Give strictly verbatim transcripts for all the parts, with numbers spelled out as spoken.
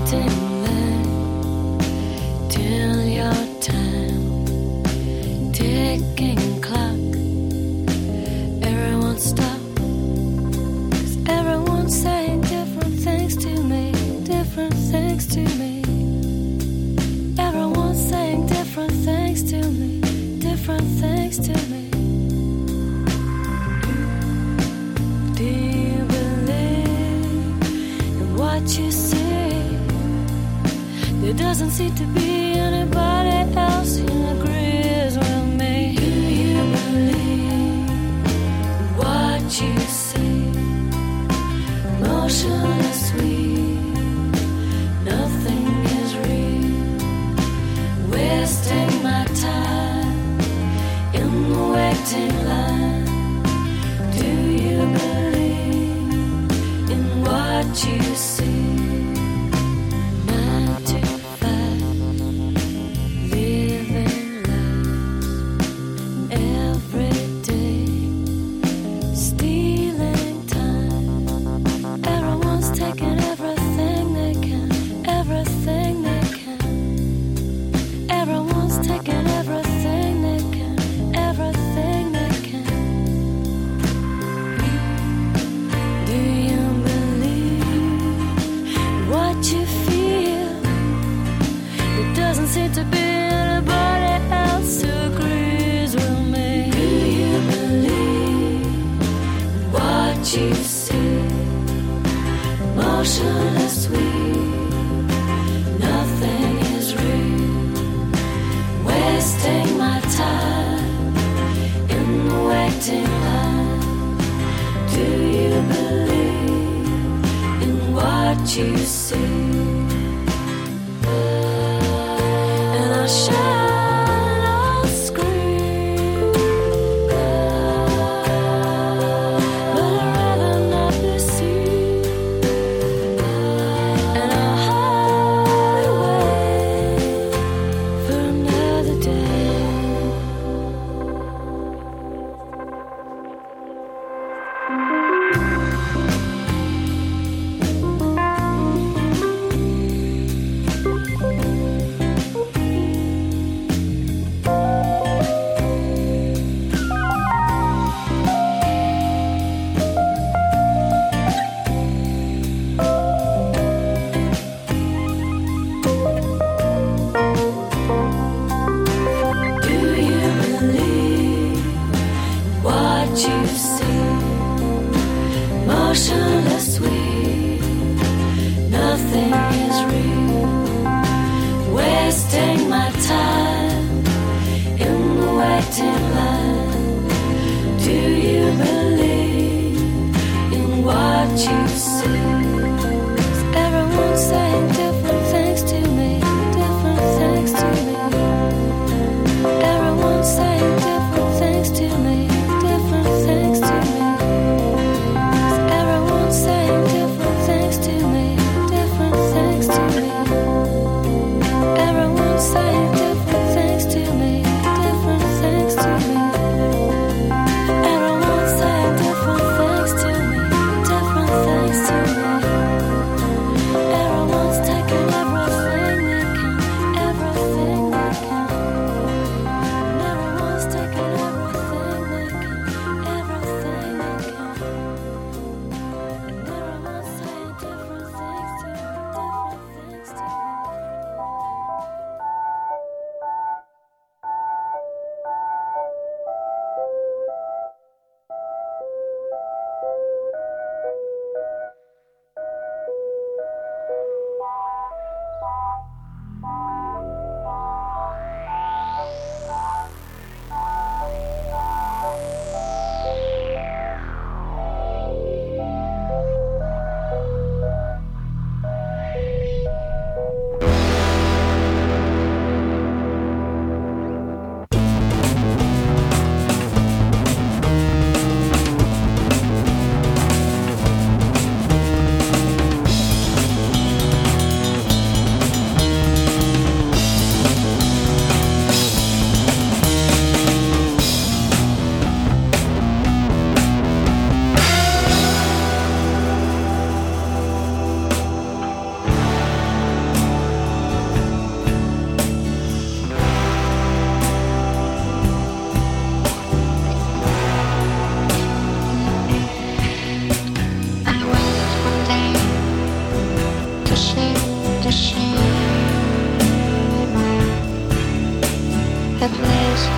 Different things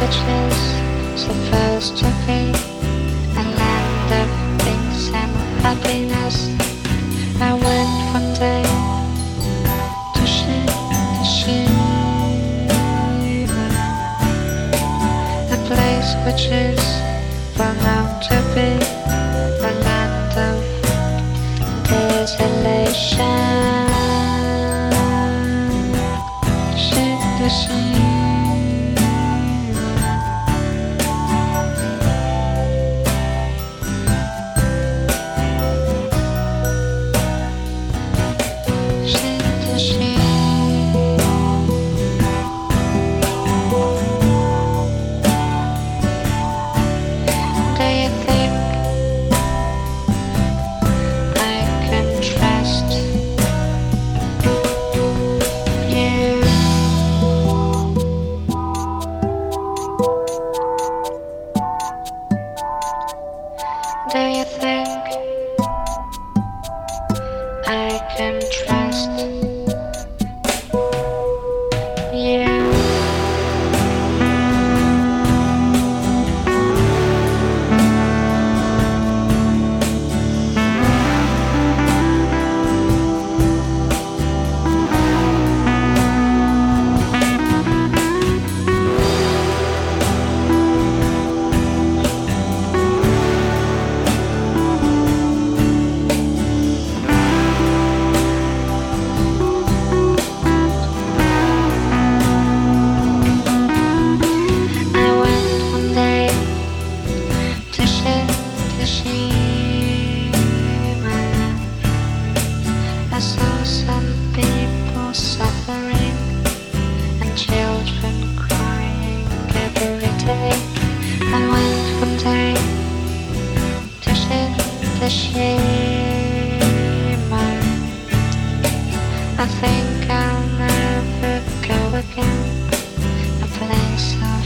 which is supposed to be a land of peace and happiness. I went one day to Shiba, a place which is pronounced to be a land of desolation. Shiba. Do you think I can trust you? I saw some people suffering and children crying every day. I went one day to Hiroshima. I think I'll never go again. A place of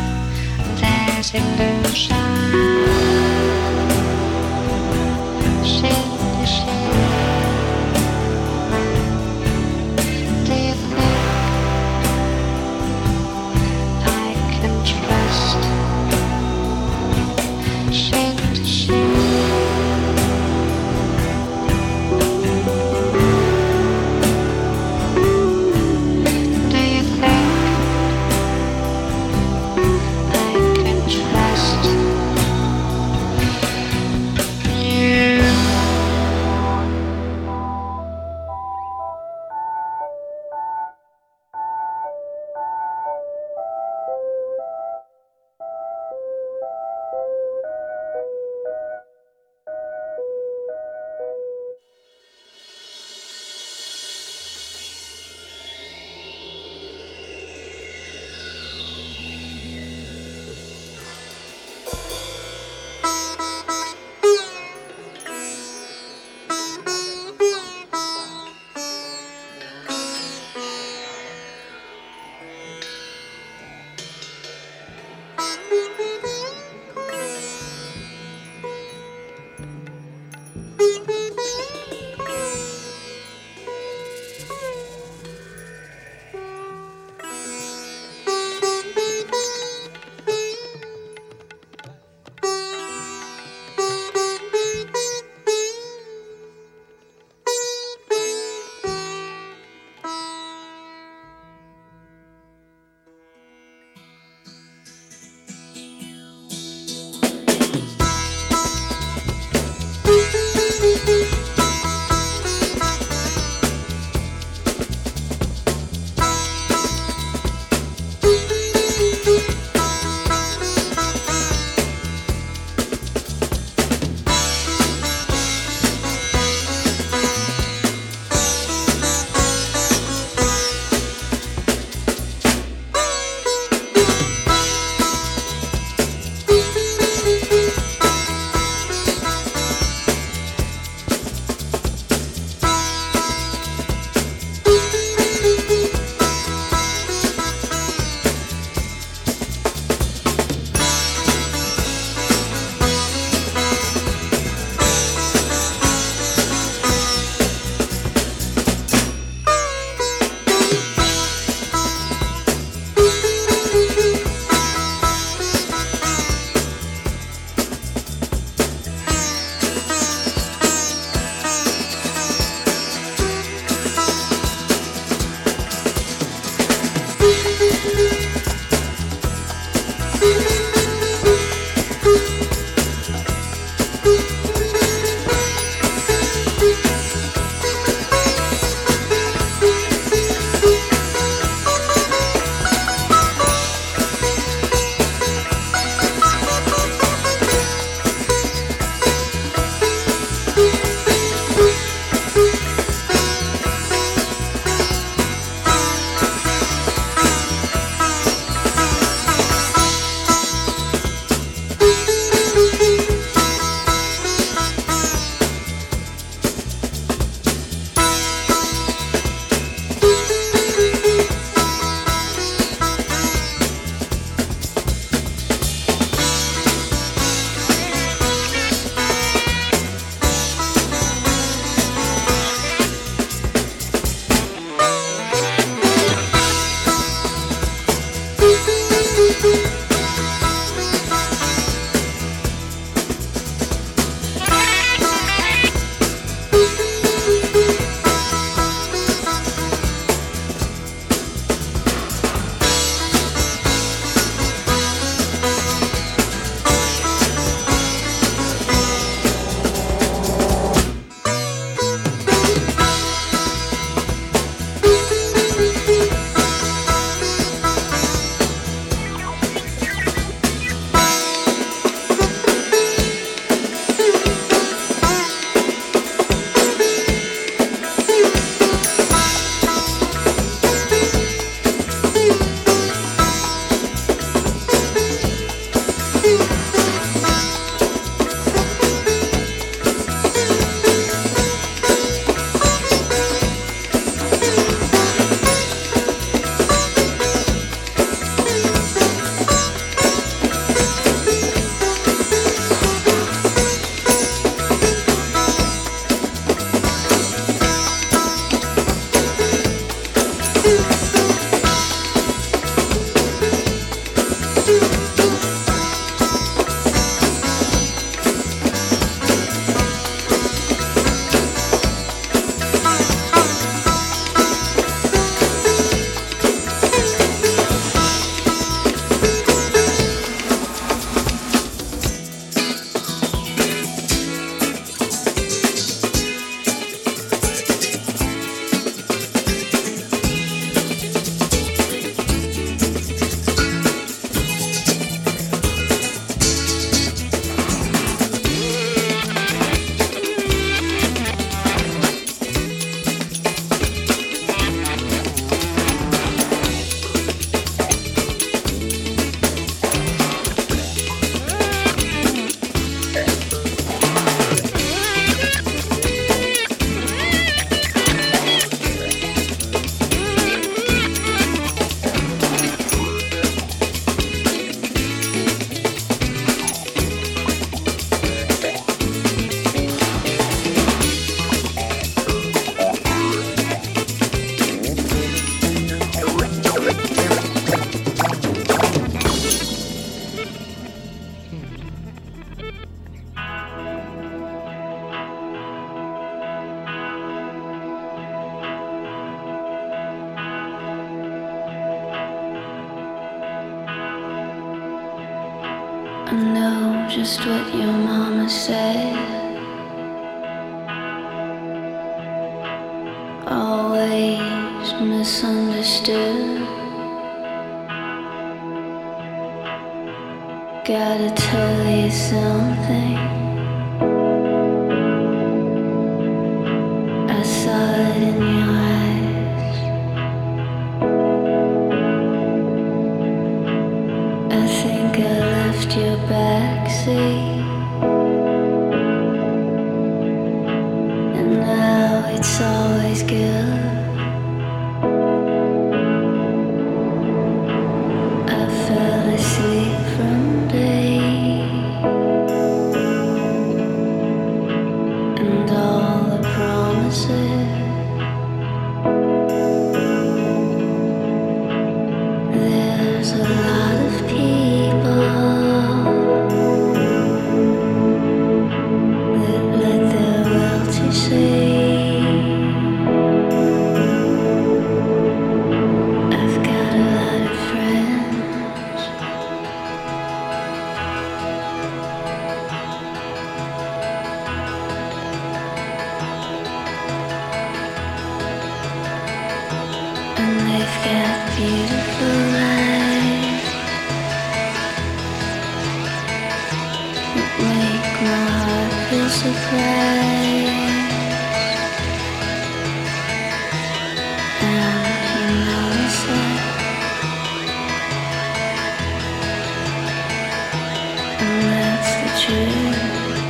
disillusion. I know just what your mama said. Always misunderstood. Gotta tell you something. I saw it in your eyes. I think I left your backseat, and now it's always good. I fell asleep from day, and all the promises. There's a lot of people that let their wealthy say, I've got a lot of friends. And they've got beautiful lives that make my heart feel surprised. And you notice it, and that's the truth.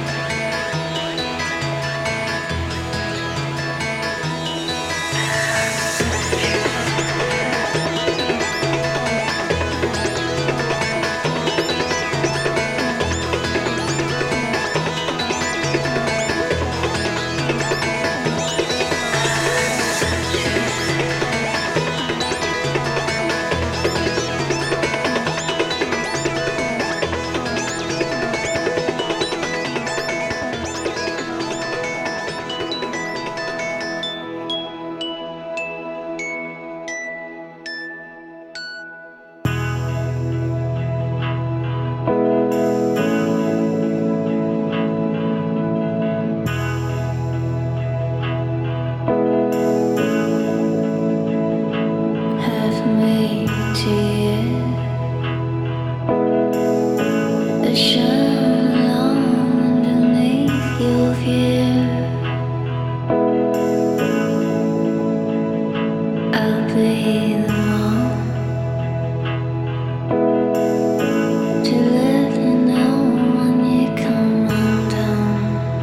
Have made to you a shine along underneath your view. I'll be the one to let you know when you come undone.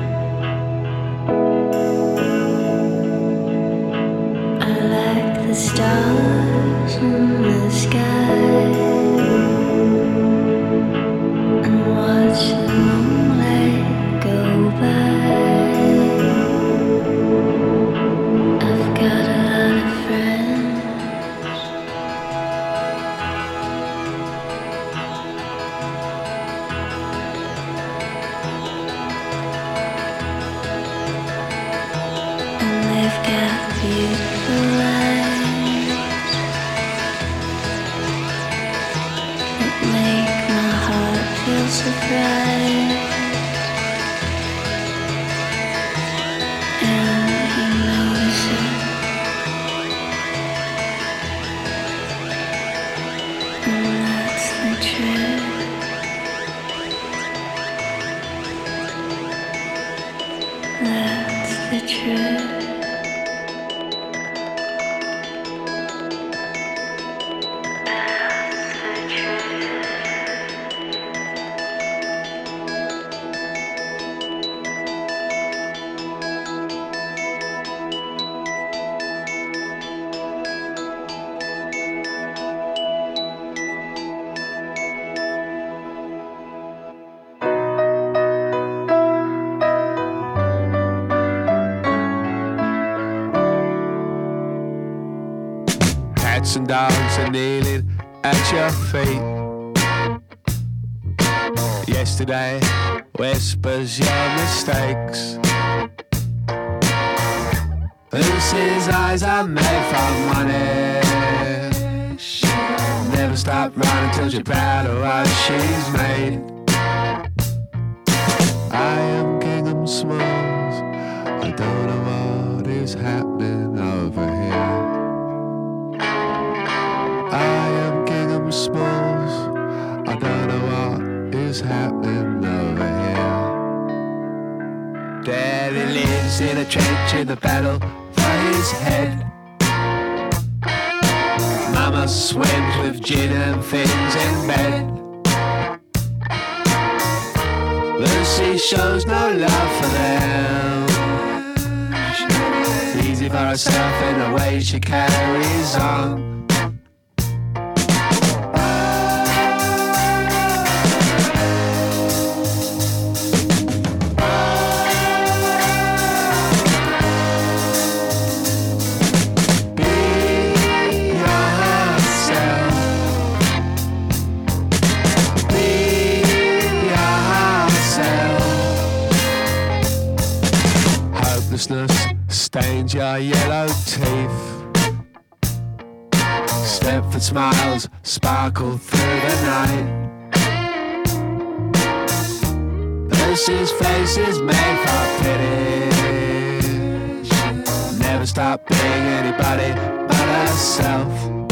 I like the stars in the sky and watch the moonlight go by. I've got a lot of friends. And they've got beautiful lives that make my heart feel surprised. And you notice it, and that's the truth. That's the truth. Hats and dogs are kneeling at your feet. Yesterday whispers your mistakes. Lucy's eyes are made from money. Never stop running till she's proud of what she's made. I am Kingham Smalls. I don't know what is happening over here. I am Kingham Smalls. I don't know what is happening over here. Daddy lives in a trench in the battle for his head. Mama swims with gin and things in bed. Lucy shows no love for them. She's easy for herself in the way she carries on. Stains your yellow teeth. Stepford smiles sparkle through the night. Lucy's face is made for pity. She'll never stop being anybody but herself.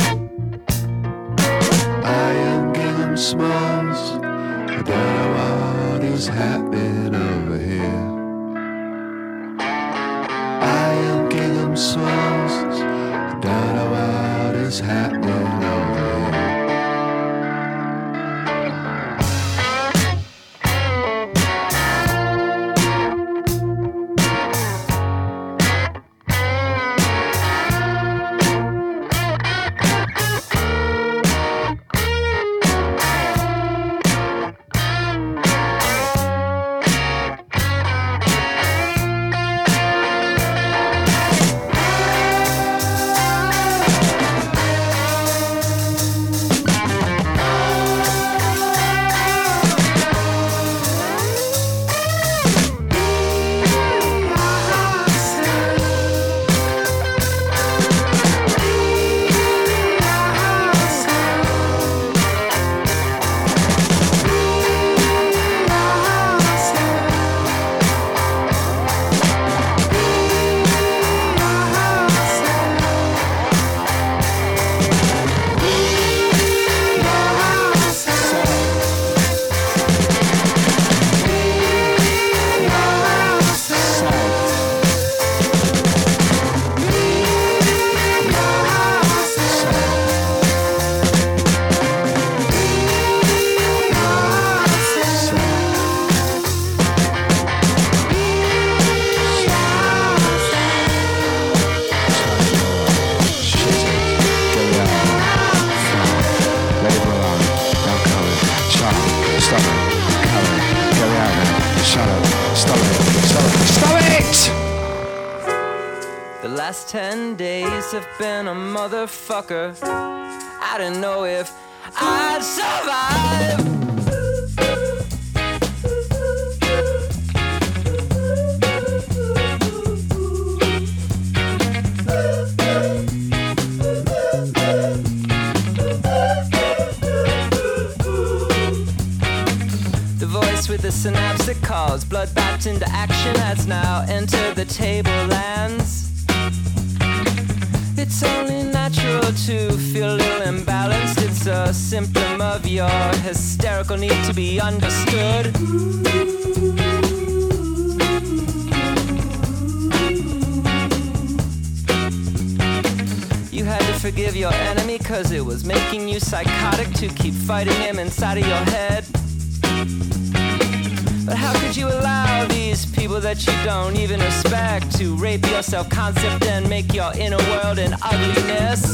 I am Kingham Smalls. I don't know what is happening over here. Kingham Smalls, I don't know what is happening over here. Ten days have been a motherfucker. I didn't know if I'd survive. The voice with the synapse that calls blood back into action has now entered the tablelands. It's only natural to feel a little imbalanced. It's a symptom of your hysterical need to be understood. You had to forgive your enemy cause it was making you psychotic to keep fighting him inside of your head. But how could you allow these people that you don't even respect to rape your self-concept and make your inner world an ugliness?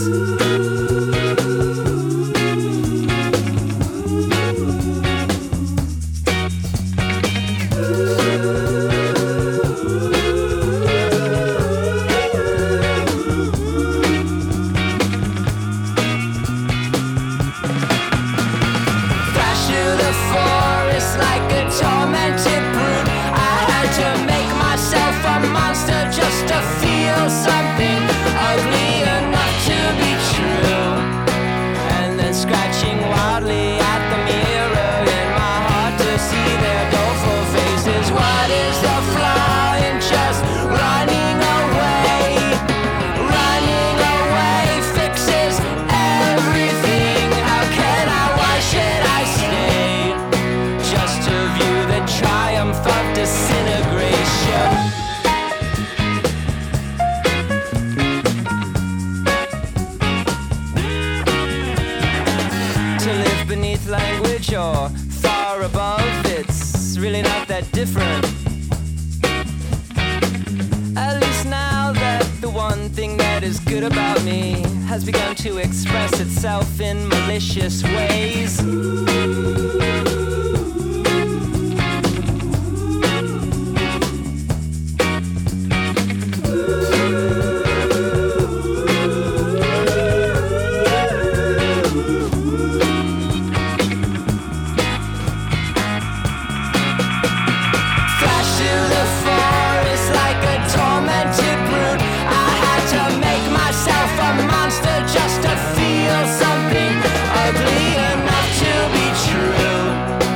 Flash through the forest like a tormented brute. I had to make myself a monster just to feel something ugly enough to be true. average or far above, it's really not that different. At least now that the one thing that is good about me has begun to express itself in malicious ways. Just to feel something ugly enough to be true.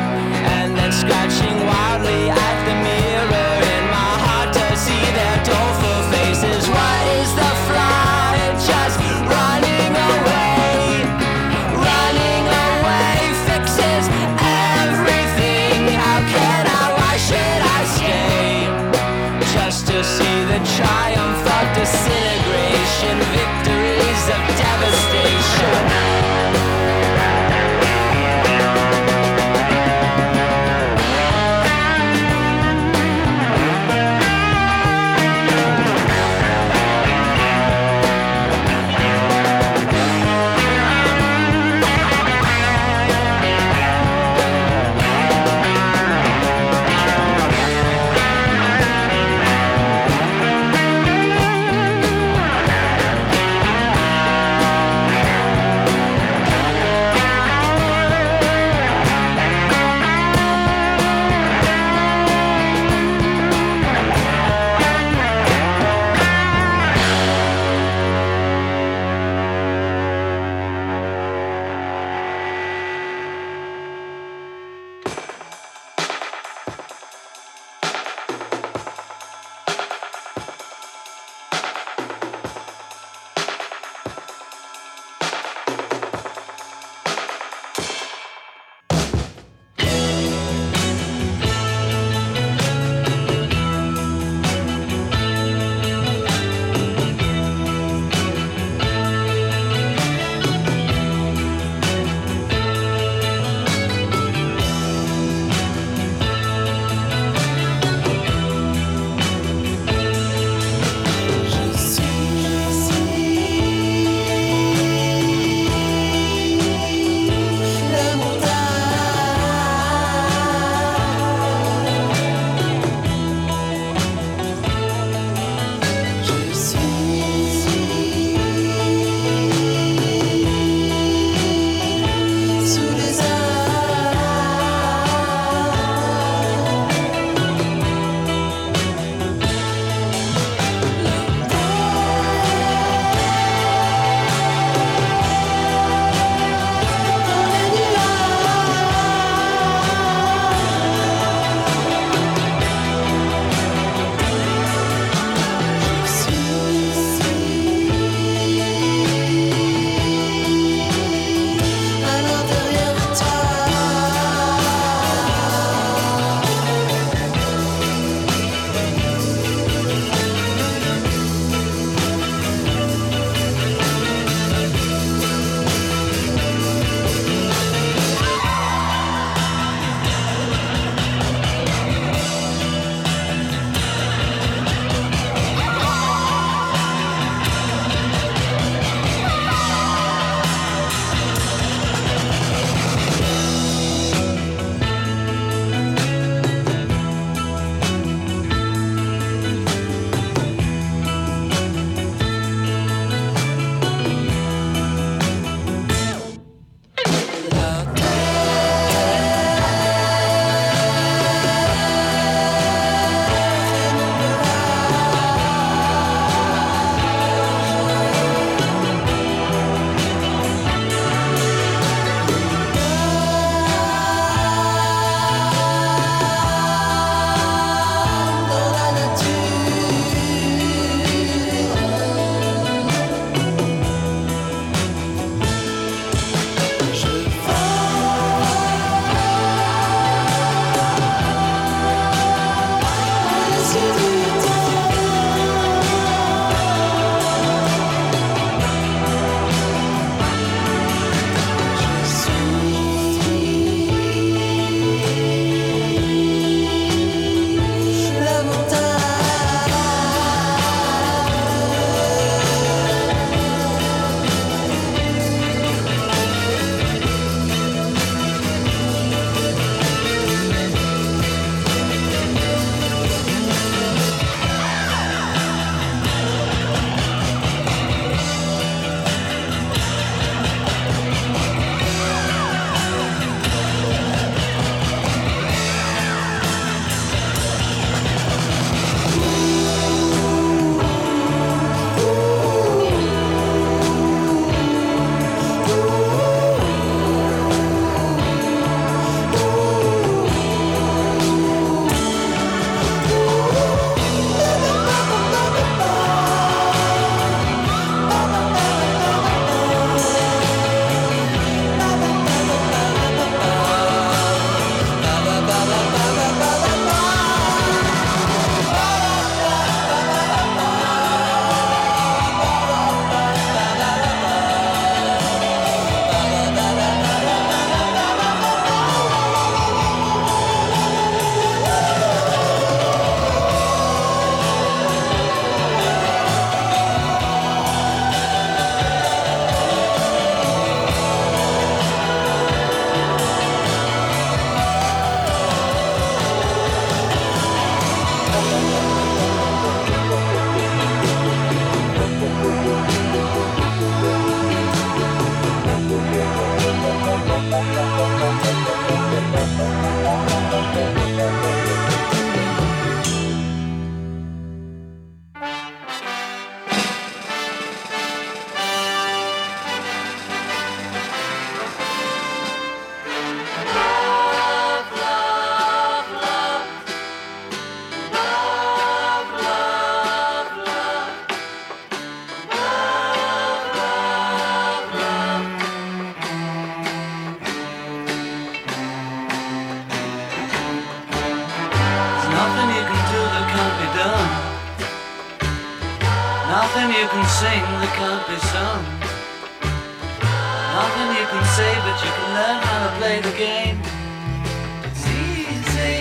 you can sing that can't be sung. Nothing you can say, but you can learn how to play the game. It's easy.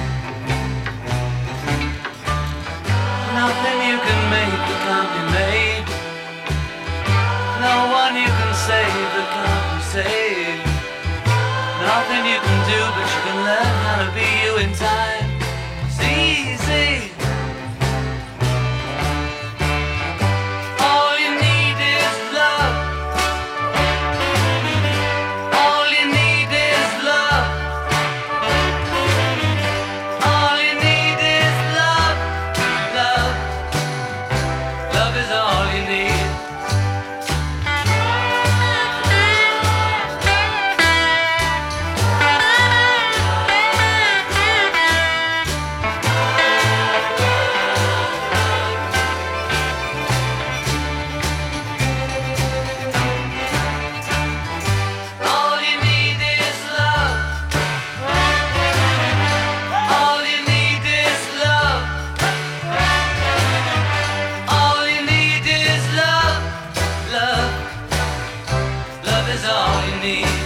Nothing you can make that can't be made. No one you can save that can't be saved. Nothing you can do, but you can learn how to be you in time. It's easy. All you need is love. All you need is love. All you need is love. Love. Love is all you need. All you need is love. All you need is love. All you need is love. Love. Love is all you need.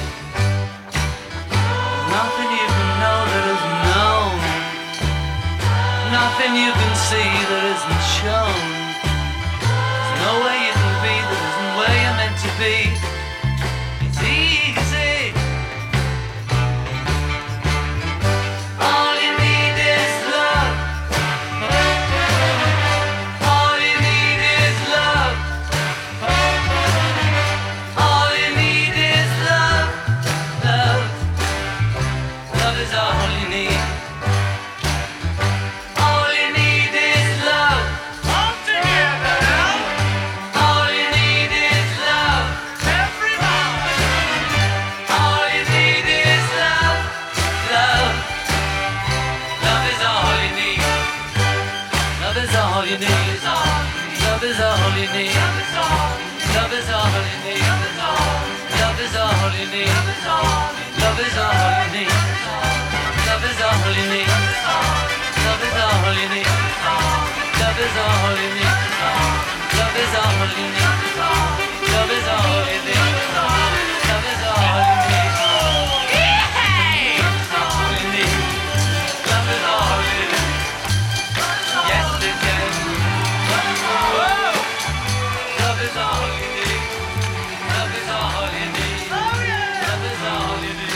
Nothing you can know that isn't known. Nothing you can see that isn't shown. There's no way you can be that isn't where you're meant to be. It's easy. All you need is love. All you need is love. All you need is love. Love. Love is all you need. All you need is love. All together now. All you need is love. Everybody. All you need is love. Love. Love is all you need. Love is all you need. Love is all you need. Love is all you need. Love is all you need. Love is all you need. Love is all you need. Love is all you need. Love is all you need. Love is all you need. Love is all you need. Love is all you need. All you need. Love is all you need. Yes, it can. Whoa. Love is all you need. Love is all you need. Love is all you need.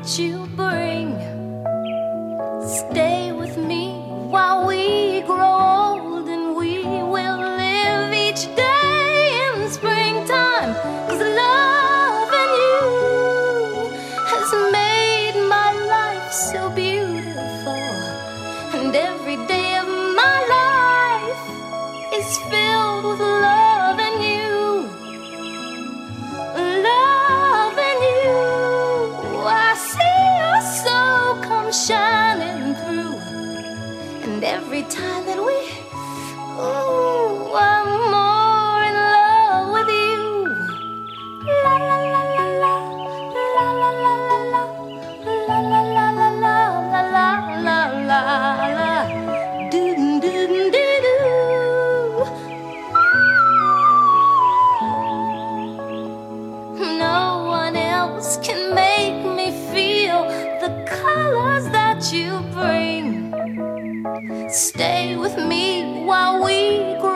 that you bring. Stay with me while we grow old, and we will live each day in springtime. 'Cause loving you has made my life so beautiful, and every day of my life is filled with loving you. Loving you, I see your soul come shining through, and every time that we, ooh, I'm more in love with you. La la la la la, la la la la la, la la la la la, la la la la la, do do do do. No one else can make me feel the colors that you bring. Stay with me while we grow